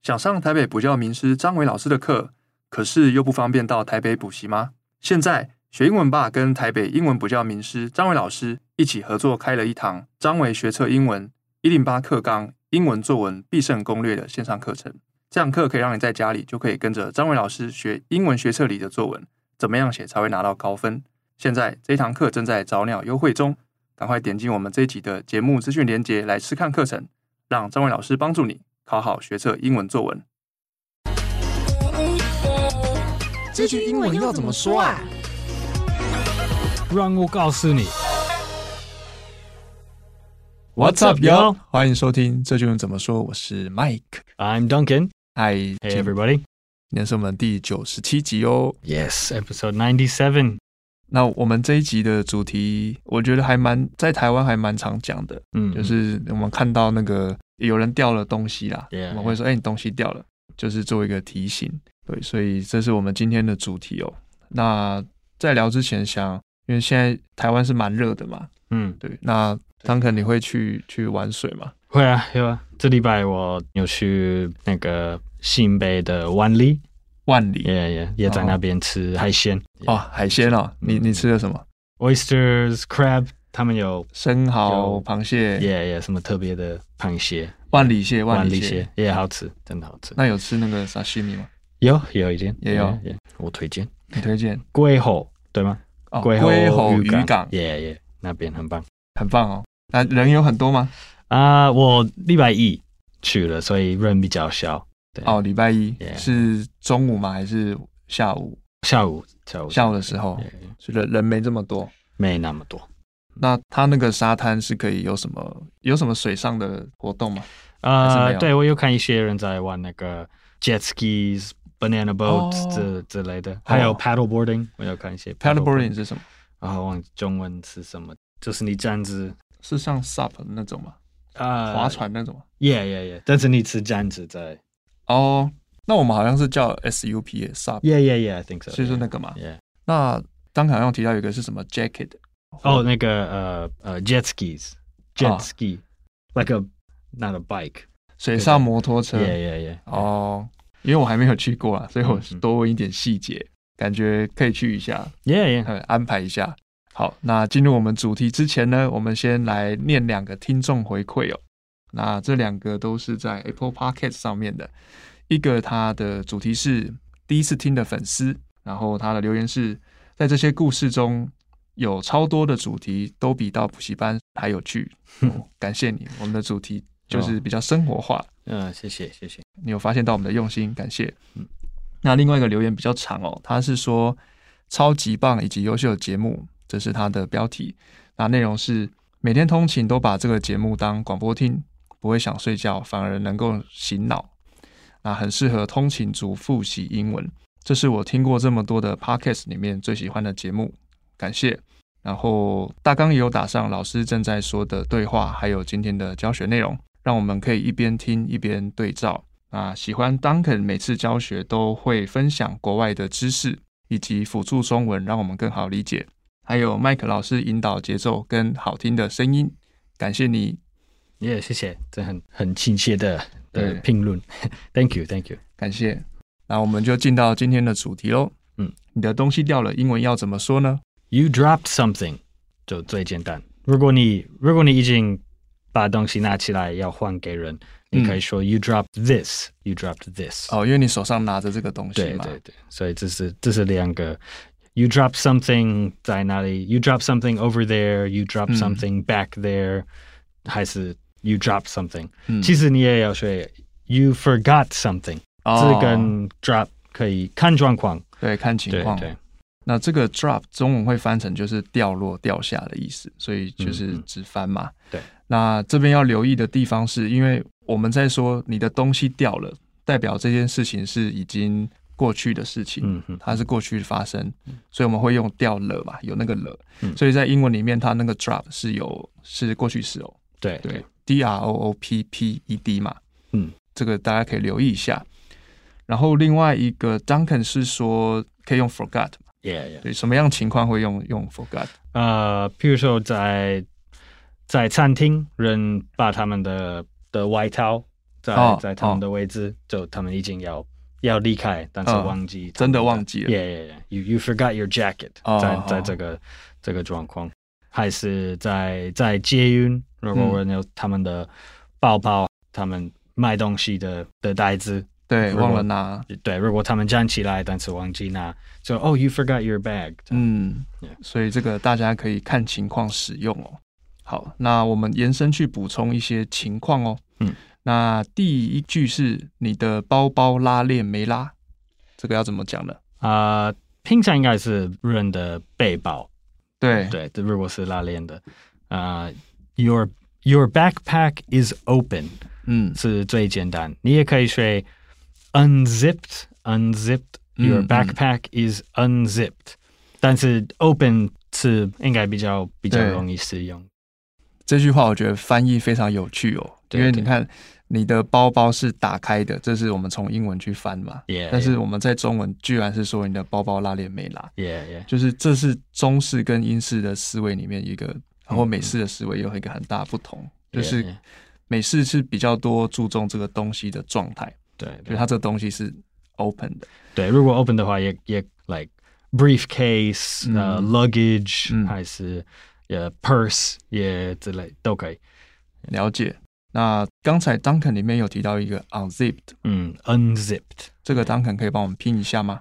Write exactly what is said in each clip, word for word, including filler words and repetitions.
想上台北補教名師張偉老師的課，可是又不方便到台北補習嗎？現在學英文吧跟台北英文補教名師張偉老師一起合作開了一堂張偉學測英文一零八課綱英文作文必勝攻略的線上課程。這堂課可以讓你在家裡就可以跟着張偉老師學英文學測裡的作文，怎麼樣寫才會拿到高分。現在這一堂課正在早鳥優惠中，趕快點進我們這一集的節目資訊連結來試看課程，讓張偉老師幫助你考好學測英文作文。 這句英文要怎麼說啊？ 讓我告訴你。 What's up, yo？ 歡迎收聽這句英文怎麼說，我是 Mike。I'm Duncan。Hi, Hey everybody。 今天是我們第九十七集哦。 Yes, episode ninety-seven。 那我們這一集的主題，我覺得還蠻在台灣還蠻常講的，嗯，就是我們看到那個有人掉了東西啦， yeah, 我們會說，哎、欸，你東西掉了，就是做一個提醒，對，所以這是我們今天的主題哦。那在聊之前想，因為現在台灣是蠻熱的嘛，嗯，對，那湯肯你會去去玩水嗎？ 會啊，有啊，這禮拜我有去那個新北的萬里。 萬里， 也也也在那邊吃海鮮哦，海鮮哦，你你吃了什麼 ？Oysters, crab， 他們有生蠔、螃蟹， 也也什麼特別的螃蟹， 萬里蟹， 萬里蟹也好吃，真的好吃。 那有吃那個沙西米嗎？ 有，有一點， 也有， 我推薦， 你推薦龜吼對嗎？ 哦，龜吼漁港， 也也那邊很棒， 很棒哦。那人有很多嗎？ 啊，我禮拜一去了，所以人比較少。 哦，禮拜一、yeah. 是中午嗎？還是下午？ 下午，下午， 下午的時候， yeah. 所以人人沒這麼多， 沒那麼多。 那他那個沙灘是可以有什麼有什麼水上的活動嗎？ 啊、呃，對，我有看一些人在玩那個 jet skis、banana boats、哦、這之類的，還有 paddle boarding，、哦、我有看一些 paddle boarding 是什麼？ 然後忘記中文是什麼，就是你這樣子是像 S U P 的那種嗎？ 啊、呃， 划船那種嗎 ？Yeah, yeah, yeah。但是你是這樣子在。 哦，那我們好像是叫 S U P S U P。 Yeah, yeah, yeah, I think so。 就是那個嘛。 Yeah。 那剛才好像提到有一個是什麼 jacket。 哦，那個呃呃 jet skis，jet ski，like a not a bike， 水上摩托車。 Yeah, yeah, yeah。 哦，因為我還沒有去過啊，所以我多問一點細節，感覺可以去一下。 Yeah, yeah。 安排一下。好，那進入我們主題之前呢，我們先來念兩個聽眾回饋哦。那這兩個都是在 Apple Podcast 上面的，一個他的主題是第一次聽的粉絲，然後他的留言是在這些故事中有超多的主題都比到補習班還有趣、哦、感謝你，我們的主題就是比較生活化。 嗯、哦，謝謝謝謝， 你有發現到我們的用心，感謝。嗯，那另外一個留言比較長哦，他是說超級棒以及優秀的節目，這是他的標題。那內容是每天通勤都把這個節目當廣播聽，不會想睡覺，反而能夠醒腦。那很適合通勤族複習英文。這是我聽過這麼多的 podcast 裡面最喜歡的節目，感謝。然後大綱也有打上老師正在說的對話，還有今天的教學內容，讓我們可以一邊聽一邊對照。那喜歡 Duncan 每次教學都會分享國外的知識以及輔助中文，讓我們更好理解。還有 Mike 老師引導節奏跟好聽的聲音，感謝你。 也、yeah, 謝謝，這很很親切的的評論 ，Thank you，Thank you， 感謝。那我們就進到今天的主題嘍。嗯，你的東西掉了，英文要怎麼說呢 ？You dropped something， 就最簡單。如果你如果你已經把東西拿起來要還給人，嗯、你可以說 You dropped this，You dropped this。 哦，因為你手上拿着這個東西嘛。對對對， 所以這是這是兩個。You dropped something 在哪裡 ？You dropped something over there，You dropped something back there，、嗯、還是？You dropped something、嗯、其實你也要學 You forgot something、哦、這跟 drop 可以看狀況， 對，看情況。對對，那這個 drop 中文會翻成就是掉落、掉下的意思，所以就是直翻嘛。嗯嗯、對，那這邊要留意的地方是，因為我們在說你的東西掉了，代表這件事情是已經過去的事情，嗯、它是過去發生、嗯，所以我們會用掉了嘛，有那個了、嗯，所以在英文裡面它那個 drop 是有是過去式哦。對對。D R O O P P E D 嘛，嗯，這個大家可以留意一下。然後另外一個 Duncan 是說可以用 forgot 嘛 ，Yeah Yeah， 對，什麼樣情況會用用 forgot？ 呃，譬如說在在餐廳，人把他們的的外套在、 哦、 在他們的位置，哦、就他們已經要要離開，但是忘記、 嗯、真的忘記了。 Yeah, yeah, yeah. You you forgot your jacket、哦。在在這個、哦、這個狀況，還是在在捷運，如果有他們的包包、嗯、他們賣東西的的袋子， 對，忘了拿。 對，如果他們站起來，但是忘記拿，就哦、oh, you forgot your bag。 嗯， yeah. 所以這個大家可以看情況使用哦。好，那我們延伸去補充一些情況哦。嗯。那第一句是你的包包拉鏈沒拉，這個要怎麼講呢？啊、呃， 平常應該是人的背包， 對對，如果是拉鏈的，啊、呃、，your your backpack is open， 嗯，是最簡單。你也可以說 unzipped unzipped， your backpack、嗯、is unzipped，、嗯、但是 open 是應該比較比較容易使用。 這句話我覺得翻譯非常有趣哦，因為你看你的包包是打開的，這是我們從英文去翻嘛， yeah, 但是我們在中文居然是說你的包包拉鏈沒拉， yeah, yeah. 就是這是中式跟英式的思維裡面一個，然後美式的思維有一個很大的不同， yeah, 就是美式是比較多注重這個東西的狀態， 對， 所以它這個東西是 open 的， 對，如果 open 的話也也 like briefcase、嗯 uh, luggage、嗯、還是也、yeah, purse 也之類都可以了解。那剛才 Duncan 裡面有提到一個 unzipped， 嗯 unzipped， 這個 Duncan 可以幫我們拼一下嗎？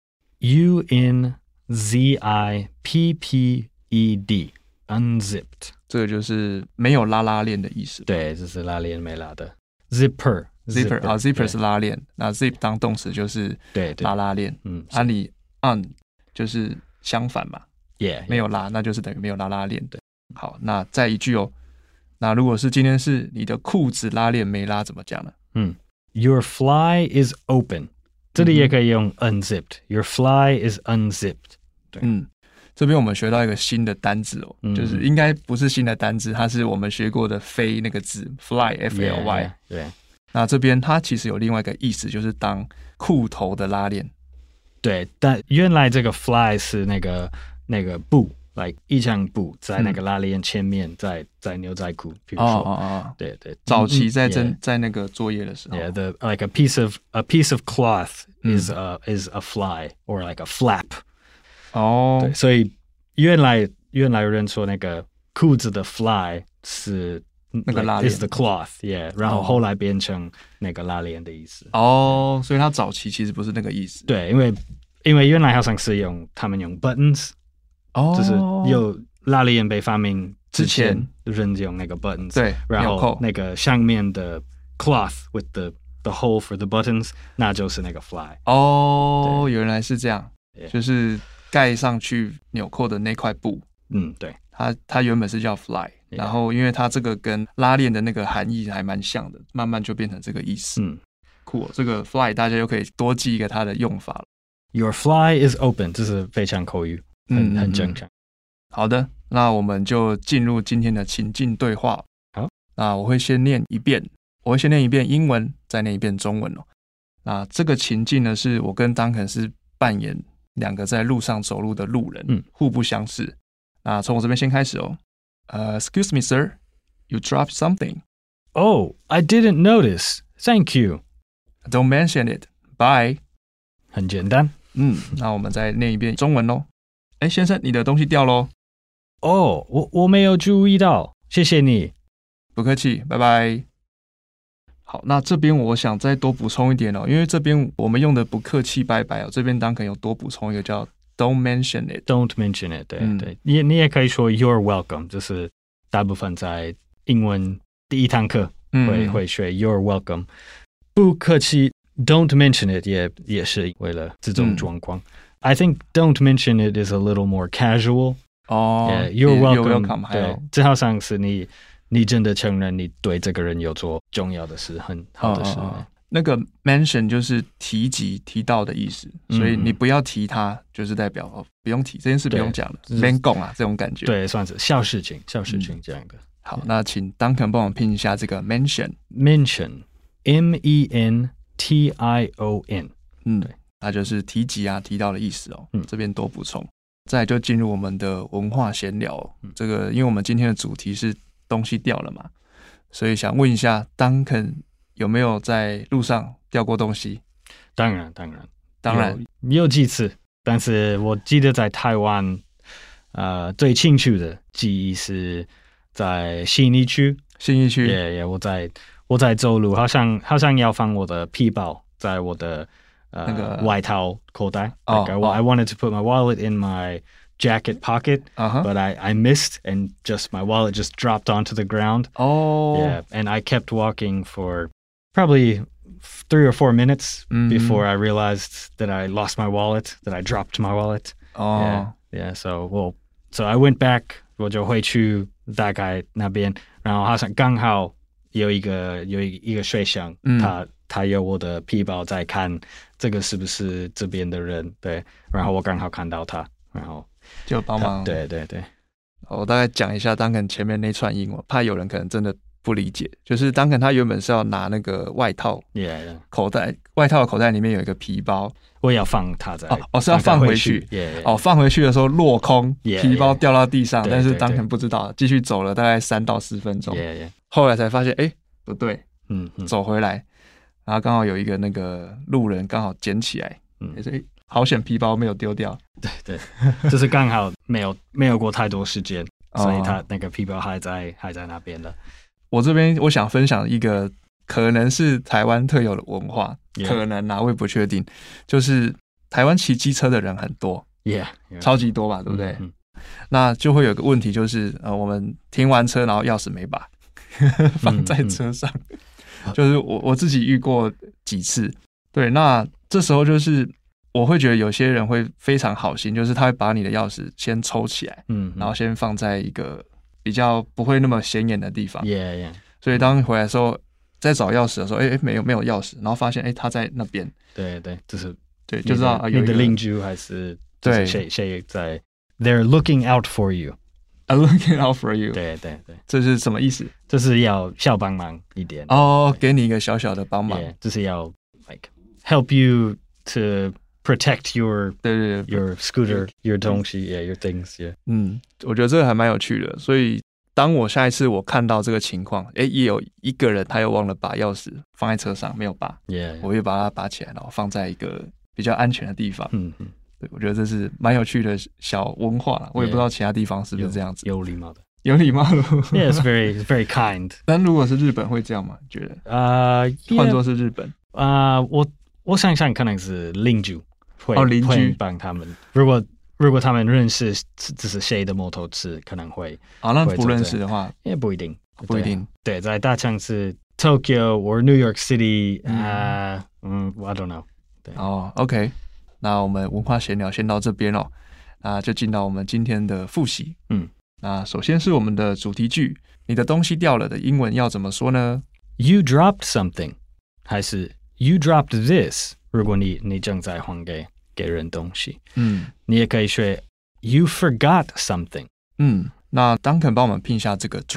U N Z I P P E D unzipped， 這個就是沒有拉拉鏈的意思。 對，這是拉鏈沒拉的 zipper zipper 啊 zipper 是拉鏈，那 zip 當動詞就是對拉拉鏈，嗯，啊你 un 就是相反嘛。 Yeah, 沒有拉， yeah. 那就是等於沒有拉拉鏈的。好，那再一句哦。那如果是今天是你的褲子拉鏈沒拉，怎麼講呢？嗯 ，Your fly is open。這裡也可以用 unzipped、嗯。Your fly is unzipped。對， 嗯，這邊我們學到一個新的單字哦，嗯、就是應該不是新的單字，它是我們學過的飛那個字 fly f l y。 對。 那這邊它其實有另外一個意思，就是當褲頭的拉鏈。 對，但原來這個 fly 是那個。那個布 ，like 一張布在那個拉鏈前面，在、嗯、在牛仔褲，比如說，哦哦哦對對， 早期在真、嗯、在那個作業的時候 ，yeah, the like a piece of a piece of cloth is a、嗯、is a fly or like a flap， 哦，對，所以原來原來有人說那個褲子的 fly 是那個拉鏈 is the cloth，yeah， 然後後來變成那個拉鏈的意思， 哦，所以它早期其實不是那個意思， 對，因為因為原來好像是用他們用 buttons。哦，就是有拉鏈被發明之前，人用那個 buttons， 對，然後那個上面的 cloth with the the hole for the buttons， 那就是那個 fly。 哦，原來是這樣，就是蓋上去紐扣的那塊布。 嗯，對， 它它原本是叫 fly， 然後因為它這個跟拉鏈的那個含義還蠻像的，慢慢就變成這個意思。嗯，酷哦，這個 fly 大家就可以多記一個它的用法了。 Your fly is open， 這是非常口語。很很正常。 好的，那我們就進入今天的情境對話。好，那我會先念一遍，我會先念一遍英文，再念一遍中文哦。那這個情境呢，是我跟 Duncan 是扮演兩個在路上走路的路人，嗯，互不相識。那從我這邊先開始哦。呃、uh, ，Excuse me, sir, you dropped something. Oh, I didn't notice. Thank you. Don't mention it. Bye. 很簡單。 嗯，那我們再念一遍中文嘍。哎，先生，你的東西掉嘍！ 哦，我我沒有注意到，謝謝你。 不客氣，拜拜。好，那這邊我想再多補充一點哦，因為這邊我們用的不客氣，拜拜哦。這邊當然可以有多補充一個叫 "Don't mention it"。 Don't mention it， 對、嗯、對，你你也可以說 "You're welcome"， 就是大部分在英文第一堂課會、嗯、會學 "You're welcome"。不客氣 "Don't mention it" 也也是為了這種狀況。嗯I think don't mention it is a little more casual. 哦、 oh, yeah, You're welcome. welcome 對，這好像是你你真的承認你對這個人有做重要的事，很好的事。哦哦哦那個 mention 就是提及、提到的意思，嗯、所以你不要提它，就是代表哦不用提這件事，不用講了，免講啊這種感覺。 對，算是小事情，小事情這樣的。嗯、 好，那請 Duncan 幫我拼一下這個 mention。 mention M E N T I O N。 嗯，對。那就是提及啊，提到的意思哦。嗯，這邊多補充。再來就進入我們的文化閒聊、哦。嗯，這個因為我們今天的主題是東西掉了嘛，所以想問一下 Duncan， 有沒有在路上掉過東西？ 當然，當然， 當然有，有幾次。但是我記得在台灣，呃，最清楚的記憶是在信義區。 信義區， 也也，我在我在走路，好像好像要放我的皮包在我的呃、那個、外套口袋。 哦 like I, 哦 I wanted to put my wallet in my jacket pocket, uh-huh. but I, I missed and just my wallet just dropped onto the ground. Oh. Yeah, and I kept walking for probably three or four minutes mm-hmm. before I realized that I lost my wallet, that I dropped my wallet. Oh. Yeah, yeah. So well, so I went back. 我就回去大概那邊，然後好像剛好有一個有一一個水箱，嗯、他他有我的皮包在看這個是不是這邊的人，對，然後我剛好看到他，然後就幫忙。 對對對， 我大概講一下 Duncan 前面那串英文，怕有人可能真的不理解。就是 Duncan 他原本是要拿那個外套， yeah, yeah. 口袋外套的口袋裡面有一個皮包。 我要放它在哦，哦是要放回去， 放 yeah, yeah. 哦放回去的時候落空， yeah, 皮包掉到地上， yeah, 但是 Duncan 不知道，繼續走了大概三到四分鐘， yeah, yeah. 後來才發現，哎，不對， 嗯，嗯走回來，然後剛好有一個那個路人剛好撿起來，嗯，也是哎，好險皮包沒有丟掉， 對對，就是剛好沒有沒有過太多時間，所以他那個皮包還在還在那邊的。 我這邊我想分享一個可能是台灣特有的文化， yeah. 可能啊，我也不確定，就是台灣騎機車的人很多 ，yeah, yeah. 超級多吧，對不對？ 嗯、 那就會有個問題，就是呃，我們停完車，然後鑰匙沒把放在車上，嗯、就是我我自己遇過幾次。對，那這時候就是我會覺得有些人會非常好心，就是他會把你的鑰匙先抽起來，嗯，然後先放在一個比較不會那麼顯眼的地方。 Yeah, yeah. 所以當回來的時候，在找鑰匙的時候，哎、欸，沒有沒有鑰匙，然後發現哎、欸，他在那邊。 對對，就是對，就知道有一個你的鄰居還是對誰誰在 ，They're looking out for you，I'm looking out for you。 對對對， 這是什麼意思？ 就是要小幫忙一點哦，給你一個小小的幫忙， yeah, 就是要 like help you to protect your 對對對 your scooter your 東西 yeah your things yeah。 嗯，我覺得這個還蠻有趣的，所以。當我下一次我看到這個情況，哎，也有一個人他又忘了把鑰匙放在車上，沒有拔， yeah, yeah. 我會把它拔起來，然後放在一個比較安全的地方。 嗯嗯， 對，我覺得這是蠻有趣的小文化啦，我也不知道其他地方是不是這樣子。 有禮貌的， 有禮貌的。 Yeah, it's very very kind。 但如果是日本會這樣嗎？你覺得？ 啊， 換作是日本啊，我我想想可能是鄰居會哦，鄰居幫他們，如果。如果他們認識這是誰的摩托車，可能會啊，那不認識的話也不一定， 不一定。 對，在大城市 Tokyo 或 New York City 啊，嗯，嗯 ，I don't know。對， 哦 ，OK， 那我們文化閒聊先到這邊哦，那就進到我們今天的複習。嗯，那首先是我們的主題句，你的東西掉了的英文要怎麼說呢 ？You dropped something， 還是 You dropped this？ 如果你你正在還給。給人東西，嗯，你也可以說 You forgot something， 嗯，那 Duncan 幫我們拼一下這個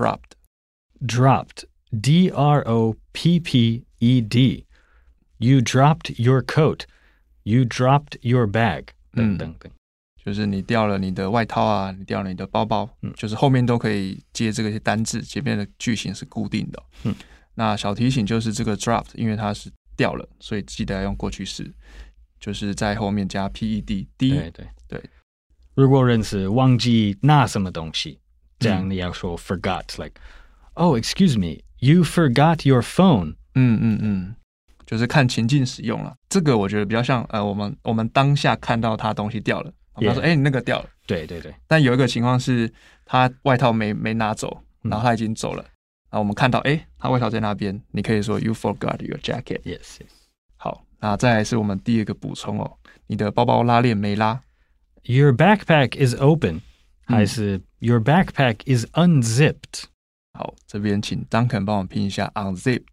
dropped，dropped，D R O P P E D，You dropped your coat，You dropped your bag，等等等， 就是你掉了你的外套啊，你掉了你的包包，嗯，就是後面都可以接這個些單字，前面的句型是固定的，嗯，那小提醒就是這個 dropped， 因為它是掉了，所以記得要用過去式。就是在後面加 P E D， D， 對對對。如果人是忘記拿什麼東西，這樣你要說 forgot，like， oh excuse me，you forgot your phone。 嗯嗯嗯，就是看情境使用了。這個我覺得比較像呃，我們我們當下看到他東西掉了，他說哎、yeah. 欸、你那個掉了。 對對對。但有一個情況是他外套沒沒拿走，然後他已經走了，嗯、然後我們看到哎、欸、他外套在那邊，你可以說 you forgot your jacket。 Yes yes。 好。那再來是我們第二個補充哦，你的包包拉鏈沒拉 ？Your backpack is open，、嗯、還是 Your backpack is unzipped？ 好，這邊請 Duncan 幫我拼一下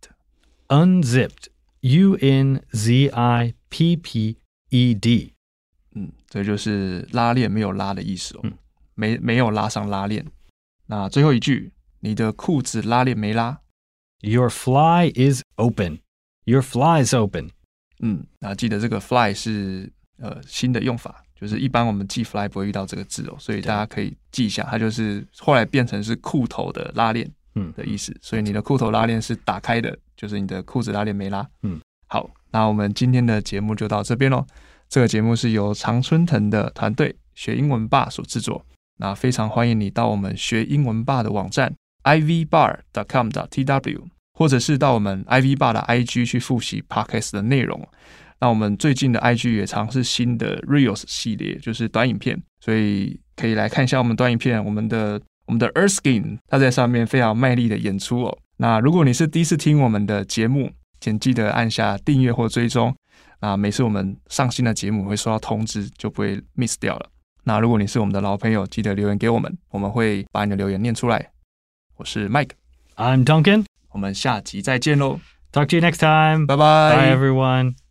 unzipped，unzipped，U N Z I P P E D。 嗯，這就是拉鏈沒有拉的意思哦，嗯、沒沒有拉上拉鏈。那最後一句，你的褲子拉鏈沒拉 ？Your fly is open，Your fly is open。 嗯，那記得這個 fly 是呃新的用法，就是一般我們記 fly 不會遇到這個字哦，所以大家可以記一下，它就是後來變成是褲頭的拉鏈的意思，嗯，所以你的褲頭拉鏈是打開的就是你的褲子拉鏈沒拉。 嗯， 好，那我們今天的節目就到這邊嘍。這個節目是由常春藤的團隊學英文吧所製作。那非常歡迎你到我們學英文吧的網站 i v bar dot com dot t w， 或者是到我們 I V bar 的 I G 去複習 Podcast 的內容。那我們最近的 I G 也嘗試新的 Reels 系列，就是短影片，所以可以來看一下我們短影片，我們的我們的 Erskine 他在上面非常賣力的演出哦。那如果你是第一次聽我們的節目，請記得按下訂閱或追蹤。那每次我們上新的節目會收到通知，就不會 miss 掉了。那如果你是我們的老朋友，記得留言給我們，我們會把你的留言念出來。我是 Mike，I'm Duncan， 我們下集再見嘍 ，Talk to you next time， 拜拜 ，Bye everyone。